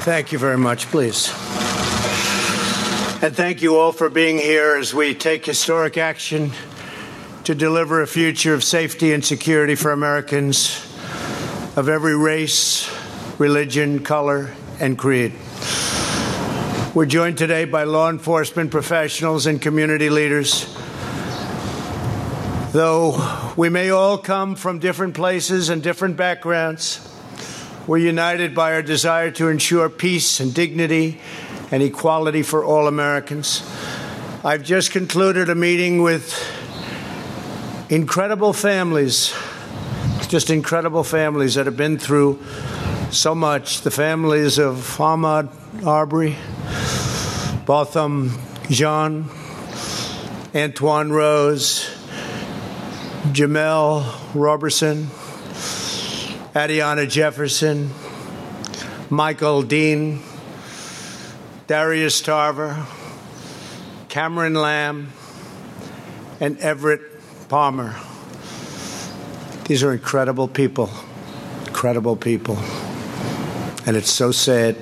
Thank you very much, please. And thank you all for being here as we take historic action to deliver a future of safety and security for Americans of every race, religion, color, and creed. We're joined today by law enforcement professionals and community leaders. Though we may all come from different places and different backgrounds, we're united by our desire to ensure peace and dignity and equality for all Americans. I've just concluded a meeting with incredible families, just incredible families that have been through so much. The families of Ahmaud Arbery, Botham Jean, Antoine Rose, Jamel Roberson, Adiana Jefferson, Michael Dean, Darius Tarver, Cameron Lamb, and Everett Palmer. These are incredible people, and it's so sad.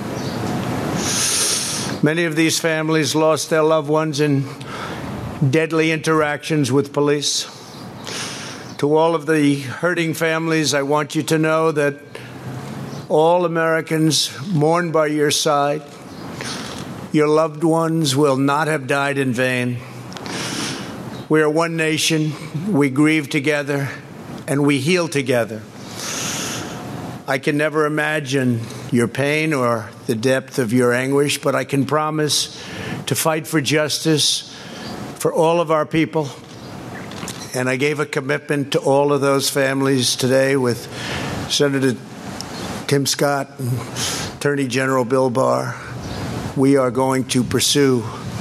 Many of these families lost their loved ones in deadly interactions with police. To all of the hurting families, I want you to know that all Americans mourn by your side. Your loved ones will not have died in vain. We are one nation. We grieve together, and we heal together. I can never imagine your pain or the depth of your anguish, but I can promise to fight for justice for all of our people. And I gave a commitment to all of those families today with Senator Tim Scott and Attorney General Bill Barr. We are going to pursue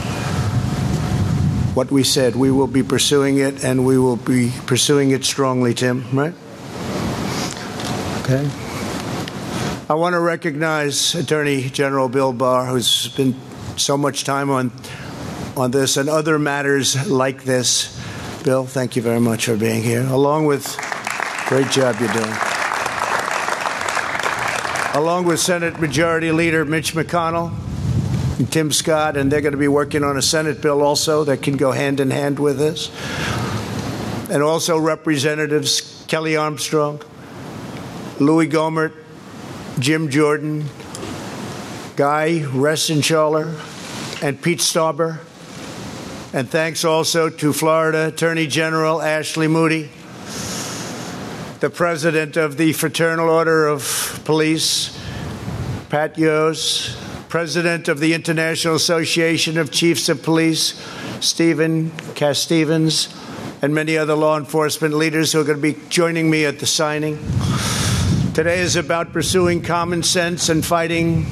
what we said. We will be pursuing it, and we will be pursuing it strongly, Tim, right? Okay. I want to recognize Attorney General Bill Barr, who's spent so much time on this and other matters like this. Bill, thank you very much for being here, along with great job you're doing. Along with Senate Majority Leader Mitch McConnell and Tim Scott, and they're going to be working on a Senate bill also that can go hand in hand with this. And also Representatives Kelly Armstrong, Louis Gohmert, Jim Jordan, Guy Reschenthaler, and Pete Stauber. And thanks also to Florida Attorney General Ashley Moody, the President of the Fraternal Order of Police, Pat Yos, President of the International Association of Chiefs of Police, Stephen Cass-Stevens, and many other law enforcement leaders who are going to be joining me at the signing. Today is about pursuing common sense and fighting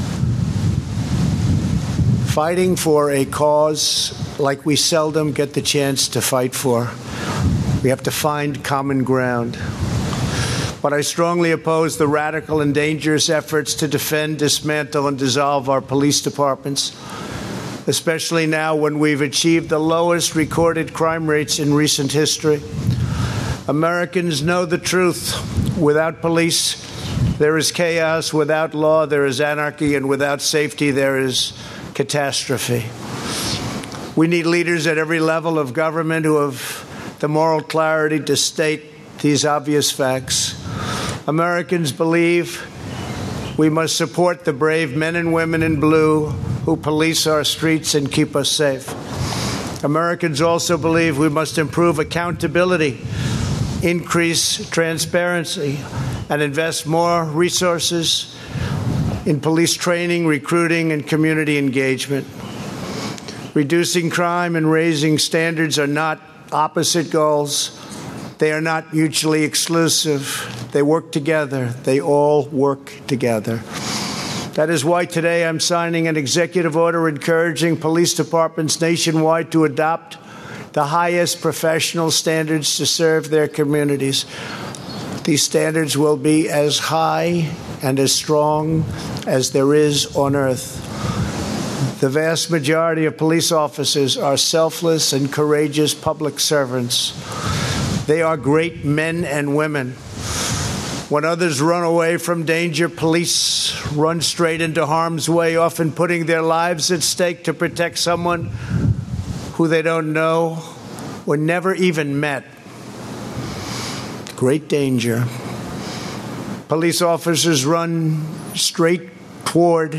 for a cause like we seldom get the chance to fight for. We have to find common ground. But I strongly oppose the radical and dangerous efforts to defend, dismantle, and dissolve our police departments, especially now when we've achieved the lowest recorded crime rates in recent history. Americans know the truth. Without police, there is chaos. Without law, there is anarchy. And without safety, there is catastrophe. We need leaders at every level of government who have the moral clarity to state these obvious facts. Americans believe we must support the brave men and women in blue who police our streets and keep us safe. Americans also believe we must improve accountability, increase transparency, and invest more resources in police training, recruiting, and community engagement. Reducing crime and raising standards are not opposite goals. They are not mutually exclusive. They work together. They all work together. That is why today I'm signing an executive order encouraging police departments nationwide to adopt the highest professional standards to serve their communities. These standards will be as high and as strong as there is on earth. The vast majority of police officers are selfless and courageous public servants. They are great men and women. When others run away from danger, police run straight into harm's way, often putting their lives at stake to protect someone who they don't know or never even met. Great danger. Police officers run straight toward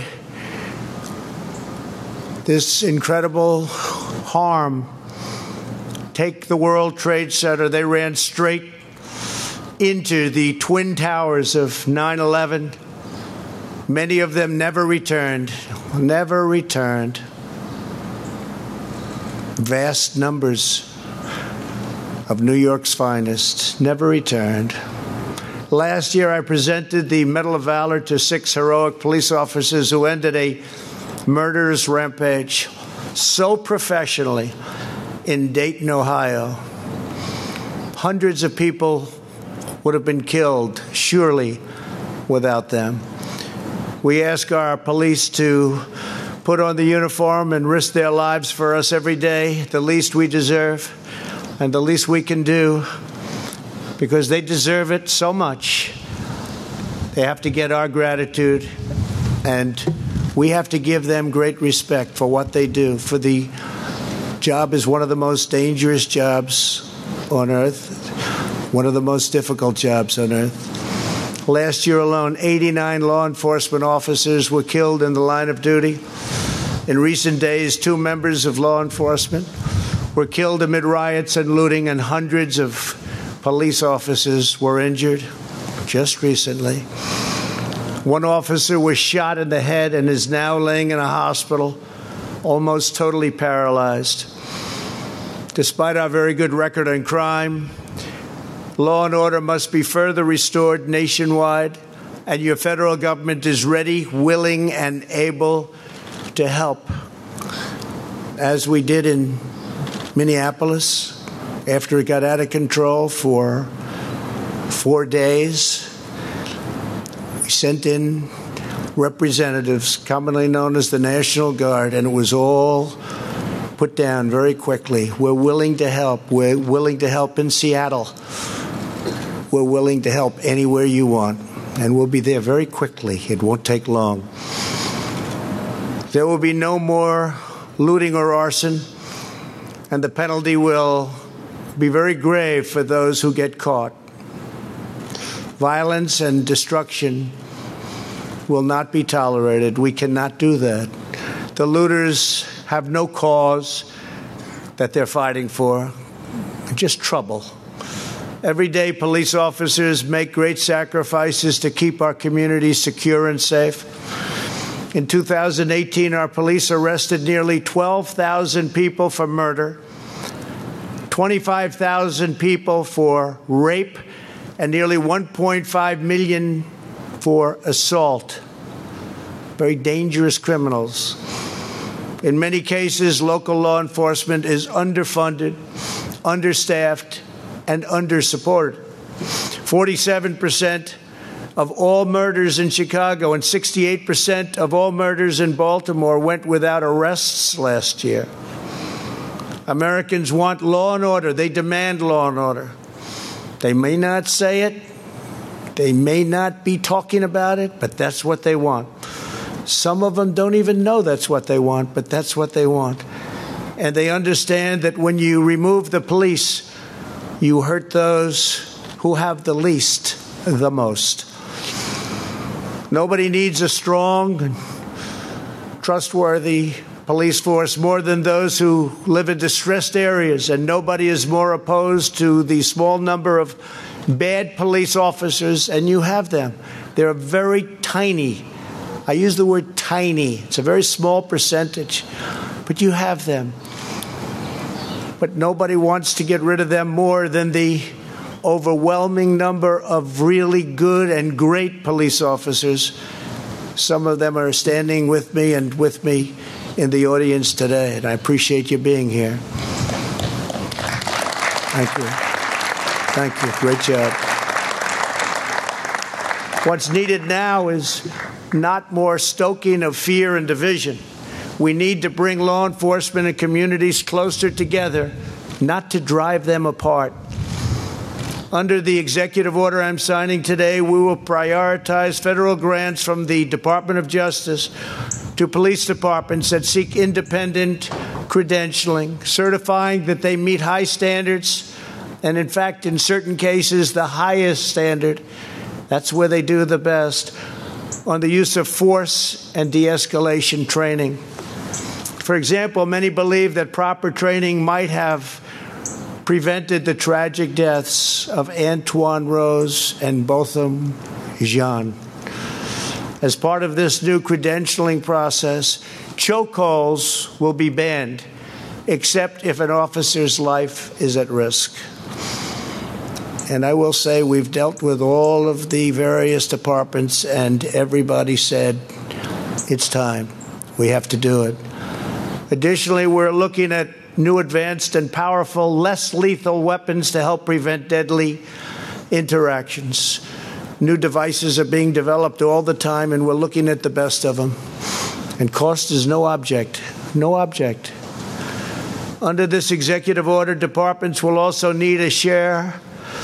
this incredible harm. Take the World Trade Center. They ran straight into the Twin Towers of 9/11. Many of them never returned. Vast numbers of New York's finest never returned. Last year, I presented the Medal of Valor to 6 heroic police officers who ended a murderous rampage so professionally in Dayton, Ohio. Hundreds of people would have been killed, surely, without them. We ask our police to put on the uniform and risk their lives for us every day, the least we deserve and the least we can do, because they deserve it so much. They have to get our gratitude, and we have to give them great respect for what they do. For the job is one of the most dangerous jobs on earth, one of the most difficult jobs on earth. Last year alone, 89 law enforcement officers were killed in the line of duty. In recent days, 2 members of law enforcement were killed amid riots and looting, and hundreds of police officers were injured just recently. 1 officer was shot in the head and is now laying in a hospital, almost totally paralyzed. Despite our very good record on crime, law and order must be further restored nationwide, and your federal government is ready, willing, and able to help. As we did in Minneapolis, after it got out of control for 4 days, we sent in representatives, commonly known as the National Guard, and it was all put down very quickly. We're willing to help. We're willing to help in Seattle. We're willing to help anywhere you want, and we'll be there very quickly. It won't take long. There will be no more looting or arson, and the penalty will be very grave for those who get caught. Violence and destruction will not be tolerated. We cannot do that. The looters have no cause that they're fighting for, just trouble. Every day, police officers make great sacrifices to keep our communities secure and safe. In 2018, our police arrested nearly 12,000 people for murder, 25,000 people for rape, and nearly 1.5 million for assault. Very dangerous criminals. In many cases, local law enforcement is underfunded, understaffed, and under-supported. 47% of all murders in Chicago and 68% of all murders in Baltimore went without arrests last year. Americans want law and order. They demand law and order. They may not say it. They may not be talking about it, but that's what they want. Some of them don't even know that's what they want, but that's what they want. And they understand that when you remove the police, you hurt those who have the least the most. Nobody needs a strong, trustworthy police force more than those who live in distressed areas, and nobody is more opposed to the small number of bad police officers, and you have them. They're very tiny. I use the word tiny. It's a very small percentage, but you have them. But nobody wants to get rid of them more than the overwhelming number of really good and great police officers. Some of them are standing with me and with me in the audience today, and I appreciate you being here. Thank you. Thank you. Great job. What's needed now is not more stoking of fear and division. We need to bring law enforcement and communities closer together, not to drive them apart. Under the executive order I'm signing today, we will prioritize federal grants from the Department of Justice to police departments that seek independent credentialing, certifying that they meet high standards, and in fact, in certain cases, the highest standard. That's where they do the best, on the use of force and de-escalation training. For example, many believe that proper training might have prevented the tragic deaths of Antoine Rose and Botham Jean. As part of this new credentialing process, chokeholds will be banned, except if an officer's life is at risk. And I will say we've dealt with all of the various departments, and everybody said, it's time. We have to do it. Additionally, we're looking at new advanced and powerful, less lethal weapons to help prevent deadly interactions. New devices are being developed all the time, and we're looking at the best of them. And cost is no object. No object. Under this executive order, departments will also need a share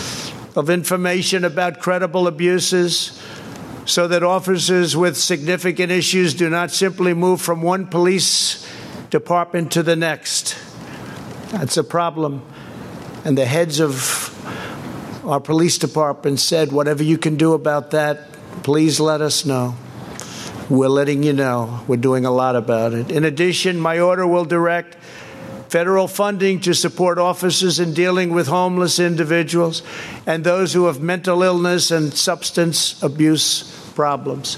of information about credible abuses so that officers with significant issues do not simply move from one police department to the next. That's a problem. And the heads of our police department said, whatever you can do about that, please let us know. We're letting you know. We're doing a lot about it. In addition, my order will direct federal funding to support officers in dealing with homeless individuals and those who have mental illness and substance abuse problems.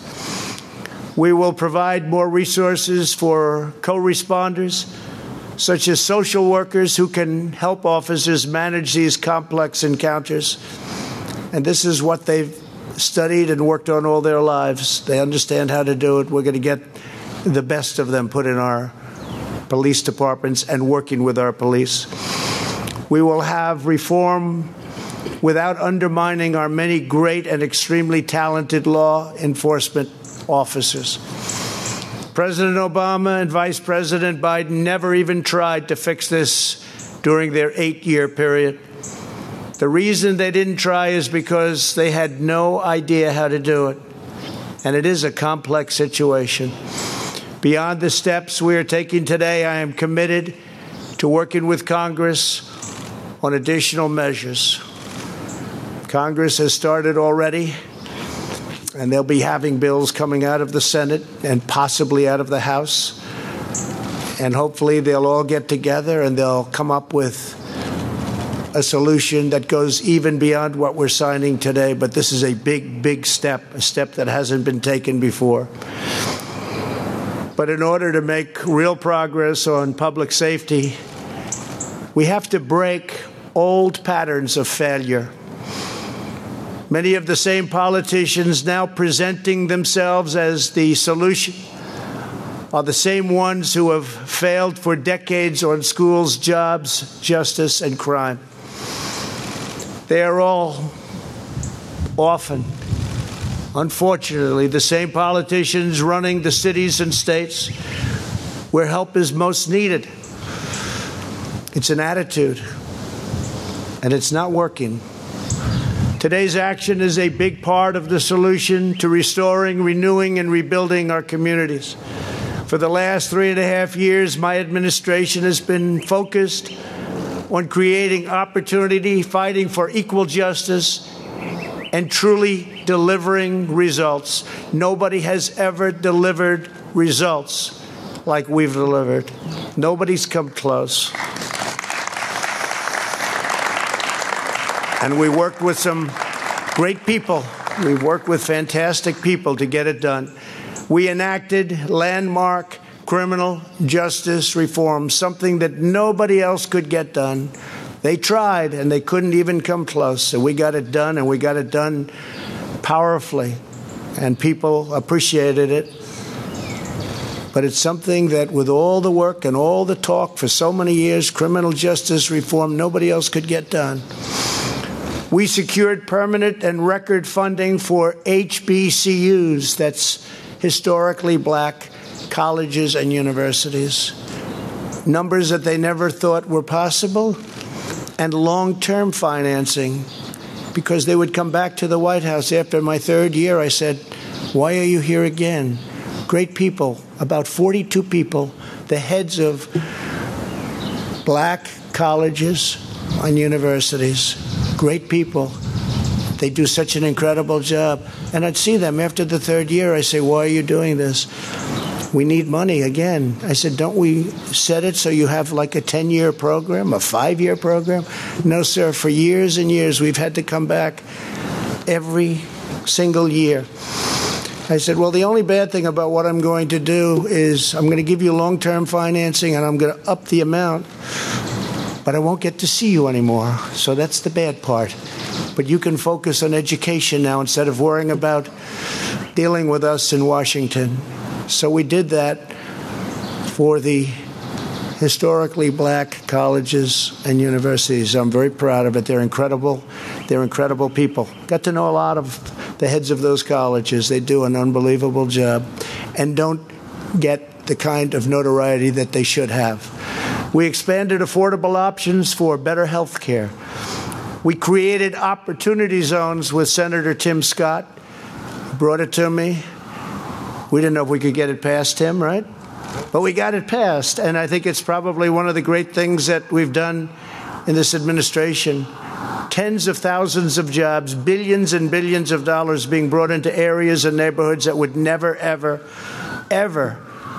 We will provide more resources for co-responders, such as social workers who can help officers manage these complex encounters. And this is what they've studied and worked on all their lives. They understand how to do it. We're going to get the best of them put in our police departments and working with our police. We will have reform without undermining our many great and extremely talented law enforcement officers. President Obama and Vice President Biden never even tried to fix this during their 8-year period. The reason they didn't try is because they had no idea how to do it. And it is a complex situation. Beyond the steps we are taking today, I am committed to working with Congress on additional measures. Congress has started already, and they'll be having bills coming out of the Senate and possibly out of the House. And hopefully they'll all get together and they'll come up with a solution that goes even beyond what we're signing today. But this is a big, big step, a step that hasn't been taken before. But in order to make real progress on public safety, we have to break old patterns of failure. Many of the same politicians now presenting themselves as the solution are the same ones who have failed for decades on schools, jobs, justice, and crime. They are all often, unfortunately, the same politicians running the cities and states where help is most needed. It's an attitude, and it's not working. Today's action is a big part of the solution to restoring, renewing, and rebuilding our communities. For the last 3.5 years, my administration has been focused on creating opportunity, fighting for equal justice, and truly delivering results. Nobody has ever delivered results like we've delivered. Nobody's come close. And we worked with some great people. We worked with fantastic people to get it done. We enacted landmark criminal justice reform, something that nobody else could get done. They tried, and they couldn't even come close. So we got it done, and we got it done powerfully, and people appreciated it. But it's something that, with all the work and all the talk for so many years, criminal justice reform, nobody else could get done. We secured permanent and record funding for HBCUs, that's historically black colleges and universities, numbers that they never thought were possible, and long-term financing because they would come back to the White House after my third year. I said, why are you here again? Great people, about 42 people, the heads of black colleges and universities, great people. They do such an incredible job. And I'd see them after the third year. I say, why are you doing this? We need money again. I said, don't we set it so you have like a 10-year program, a 5-year program? No, sir. For years and years, we've had to come back every single year. I said, well, the only bad thing about what I'm going to do is I'm going to give you long-term financing and I'm going to up the amount, but I won't get to see you anymore. So that's the bad part. But you can focus on education now instead of worrying about dealing with us in Washington. So we did that for the historically black colleges and universities. I'm very proud of it. They're incredible. They're incredible people. Got to know a lot of the heads of those colleges. They do an unbelievable job and don't get the kind of notoriety that they should have. We expanded affordable options for better health care. We created opportunity zones with Senator Tim Scott. He brought it to me. We didn't know if we could get it past him, right? But we got it passed, and I think it's probably one of the great things that we've done in this administration. Tens of thousands of jobs, billions and billions of dollars being brought into areas and neighborhoods that would never, ever, ever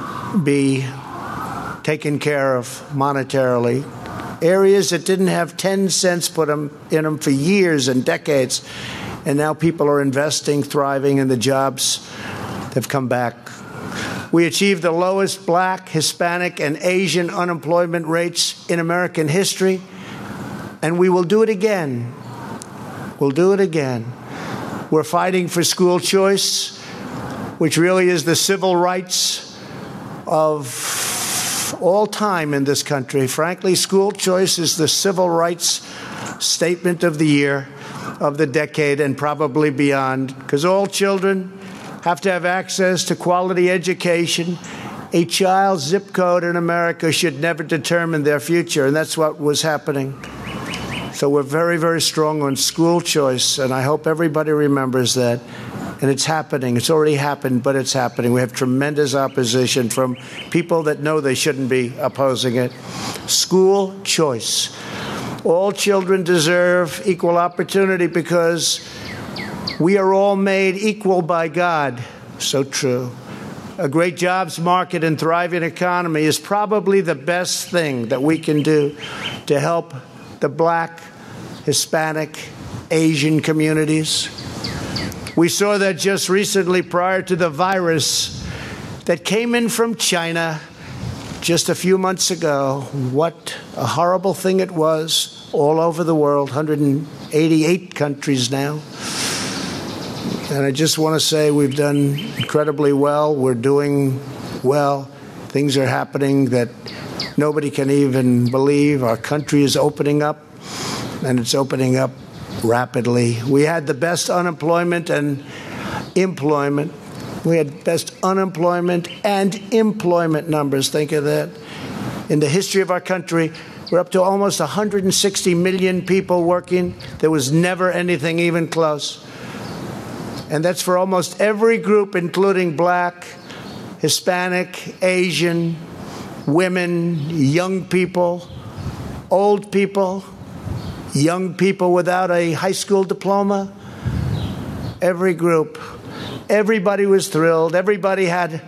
be taken care of monetarily. Areas that didn't have 10 cents put in them for years and decades, and now people are investing, thriving, and the jobs have come back. We achieved the lowest black, Hispanic, and Asian unemployment rates in American history, and we will do it again. We'll do it again. We're fighting for school choice, which really is the civil rights of all time in this country. Frankly, school choice is the civil rights statement of the year, of the decade, and probably beyond, because all children have to have access to quality education. A child's zip code in America should never determine their future, and that's what was happening. So we're very, very strong on school choice, and I hope everybody remembers that. And it's happening. It's already happened, but it's happening. We have tremendous opposition from people that know they shouldn't be opposing it. School choice. All children deserve equal opportunity because we are all made equal by God. So true. A great jobs market and thriving economy is probably the best thing that we can do to help the black, Hispanic, Asian communities. We saw that just recently prior to the virus that came in from China just a few months ago. What a horrible thing it was all over the world, 188 countries now. And I just want to say we've done incredibly well. We're doing well. Things are happening that nobody can even believe. Our country is opening up, and it's opening up rapidly. We had the best unemployment and employment. We had best unemployment and employment numbers. Think of that. In the history of our country, we're up to almost 160 million people working. There was never anything even close. And that's for almost every group, including black, Hispanic, Asian, women, young people, old people, young people without a high school diploma. Every group. Everybody was thrilled. Everybody had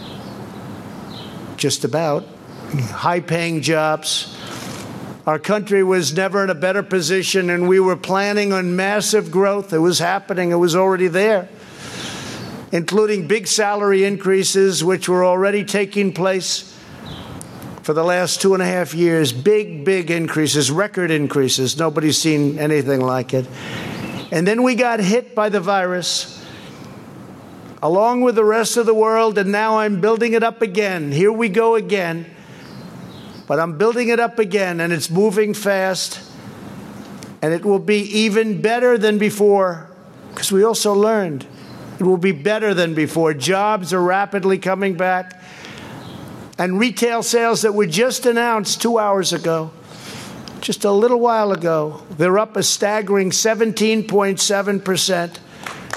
just about high-paying jobs. Our country was never in a better position, and we were planning on massive growth. It was happening. It was already there, including big salary increases, which were already taking place for the last 2.5 years. Big, big increases, record increases. Nobody's seen anything like it. And then we got hit by the virus, along with the rest of the world, and now I'm building it up again. Here we go again. But I'm building it up again, and it's moving fast, and it will be even better than before, because we also learned it will be better than before. Jobs are rapidly coming back, and retail sales that were just announced 2 hours ago, just a little while ago. They're up a staggering 17.7%.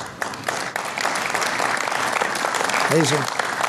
Amazing.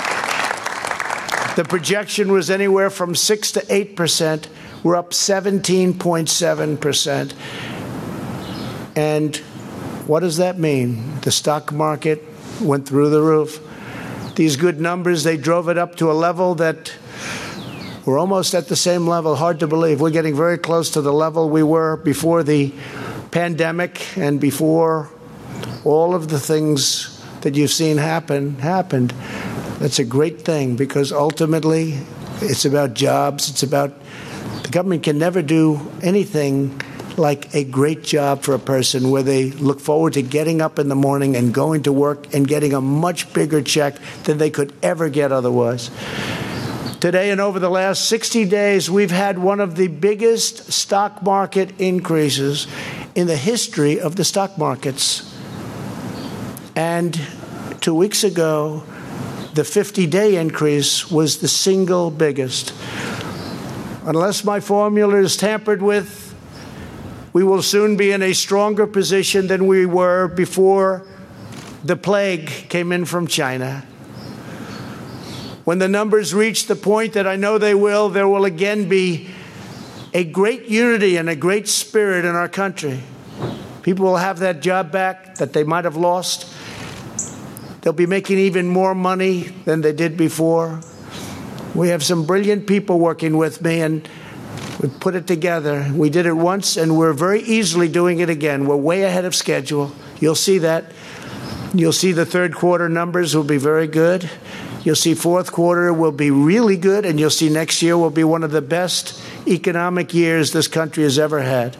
The projection was anywhere from 6 to 8%. We're up 17.7%. And what does that mean? The stock market went through the roof. These good numbers, they drove it up to a level that we're almost at the same level. Hard to believe. We're getting very close to the level we were before the pandemic and before all of the things that you've seen happened. That's a great thing, because ultimately it's about jobs. It's about the government can never do anything like a great job for a person where they look forward to getting up in the morning and going to work and getting a much bigger check than they could ever get otherwise. Today and over the last 60 days, we've had one of the biggest stock market increases in the history of the stock markets. And 2 weeks ago, the 50-day increase was the single biggest. Unless my formula is tampered with, we will soon be in a stronger position than we were before the plague came in from China. When the numbers reach the point that I know they will, there will again be a great unity and a great spirit in our country. People will have that job back that they might have lost. They'll be making even more money than they did before. We have some brilliant people working with me, and we put it together. We did it once, and we're very easily doing it again. We're way ahead of schedule. You'll see that. You'll see the third quarter numbers will be very good. You'll see fourth quarter will be really good, and you'll see next year will be one of the best economic years this country has ever had.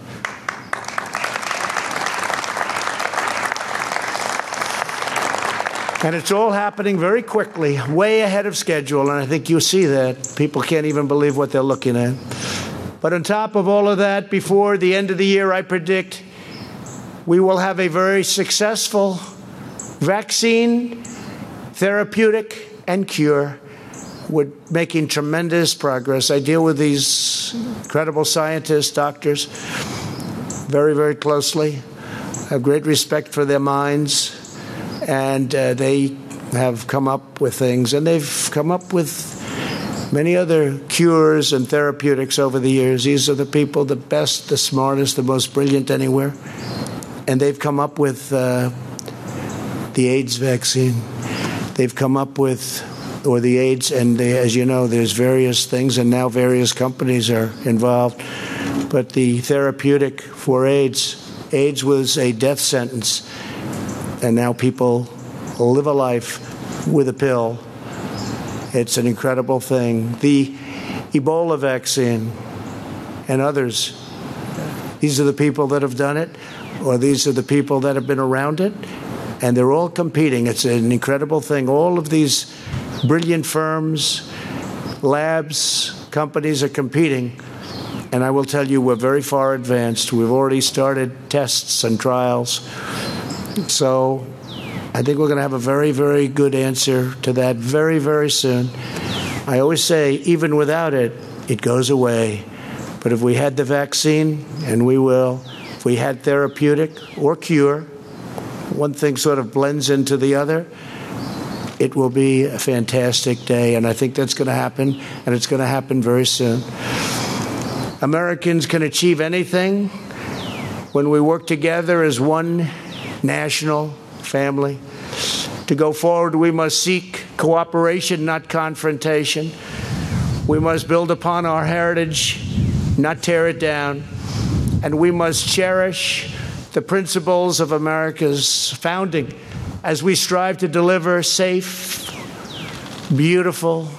And it's all happening very quickly, way ahead of schedule, and I think you'll see that. People can't even believe what they're looking at. But on top of all of that, before the end of the year, I predict we will have a very successful vaccine, therapeutic, and cure. We're making tremendous progress. I deal with these incredible scientists, doctors, very, very closely. I have great respect for their minds. And they have come up with things, and they've come up with many other cures and therapeutics over the years. These are the people, the best, the smartest, the most brilliant anywhere. And they've come up with the AIDS vaccine. They've come up with, or the AIDS, and as you know, there's various things, and now various companies are involved. But the therapeutic for AIDS was a death sentence. And now people live a life with a pill. It's an incredible thing. The Ebola vaccine and others, these are the people that have done it, or these are the people that have been around it, and they're all competing. It's an incredible thing. All of these brilliant firms, labs, companies are competing. And I will tell you, we're very far advanced. We've already started tests and trials. So I think we're going to have a very, very good answer to that very, very soon. I always say, even without it, it goes away. But if we had the vaccine, and we will, if we had therapeutic or cure, one thing sort of blends into the other, it will be a fantastic day. And I think that's going to happen, and it's going to happen very soon. Americans can achieve anything when we work together as one national family. To go forward, we must seek cooperation, not confrontation. We must build upon our heritage, not tear it down. And we must cherish the principles of America's founding as we strive to deliver safe, beautiful,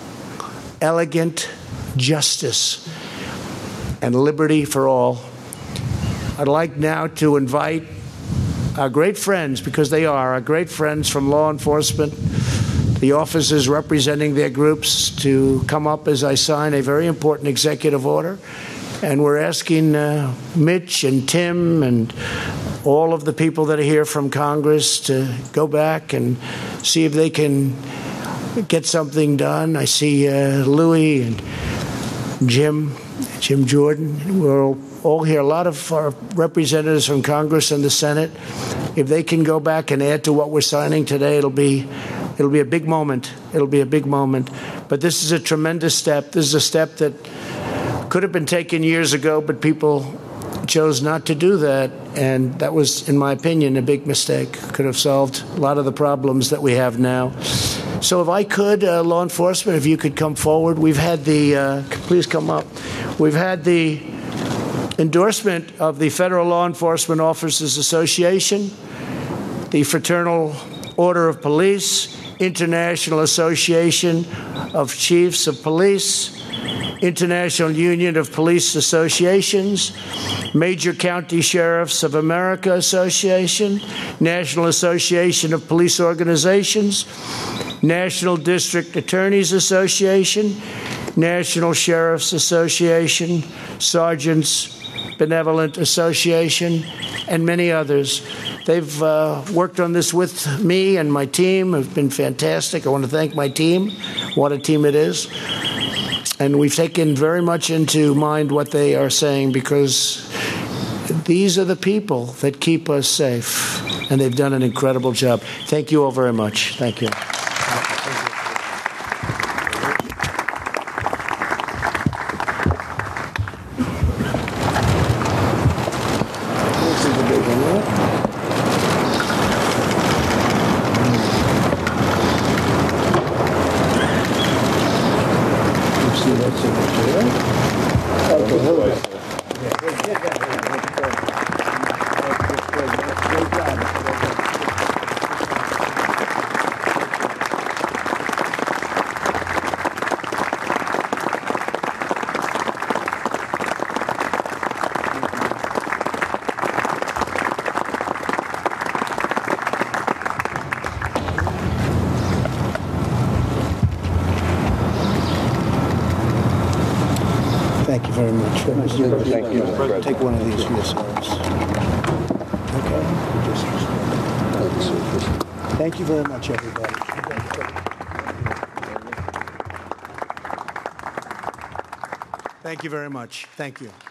elegant justice and liberty for all. I'd like now to invite our great friends, because they are our great friends from law enforcement, the officers representing their groups, to come up as I sign a very important executive order. And we're asking Mitch and Tim and all of the people that are here from Congress to go back and see if they can get something done. I see Louis and Jim Jordan. We're all here. A lot of our representatives from Congress and the Senate. If they can go back and add to what we're signing today, it'll be a big moment. It'll be a big moment. But this is a tremendous step. This is a step that could have been taken years ago, but people chose not to do that. And that was, in my opinion, a big mistake. Could have solved a lot of the problems that we have now. So if I could, law enforcement, if you could come forward. We've had please come up. We've had the endorsement of the Federal Law Enforcement Officers Association, the Fraternal Order of Police, International Association of Chiefs of Police, International Union of Police Associations, Major County Sheriffs of America Association, National Association of Police Organizations, National District Attorneys Association, National Sheriffs Association, Sergeants Benevolent Association, and many others. They've worked on this with me and my team. Have been fantastic. I want to thank my team. What a team it is. And we've taken very much into mind what they are saying, because these are the people that keep us safe. And they've done an incredible job. Thank you all very much. Thank you. Thank you very much. Thank you. Take one of these for yourselves. Okay. Thank you very much, everybody. Thank you very much. Thank you.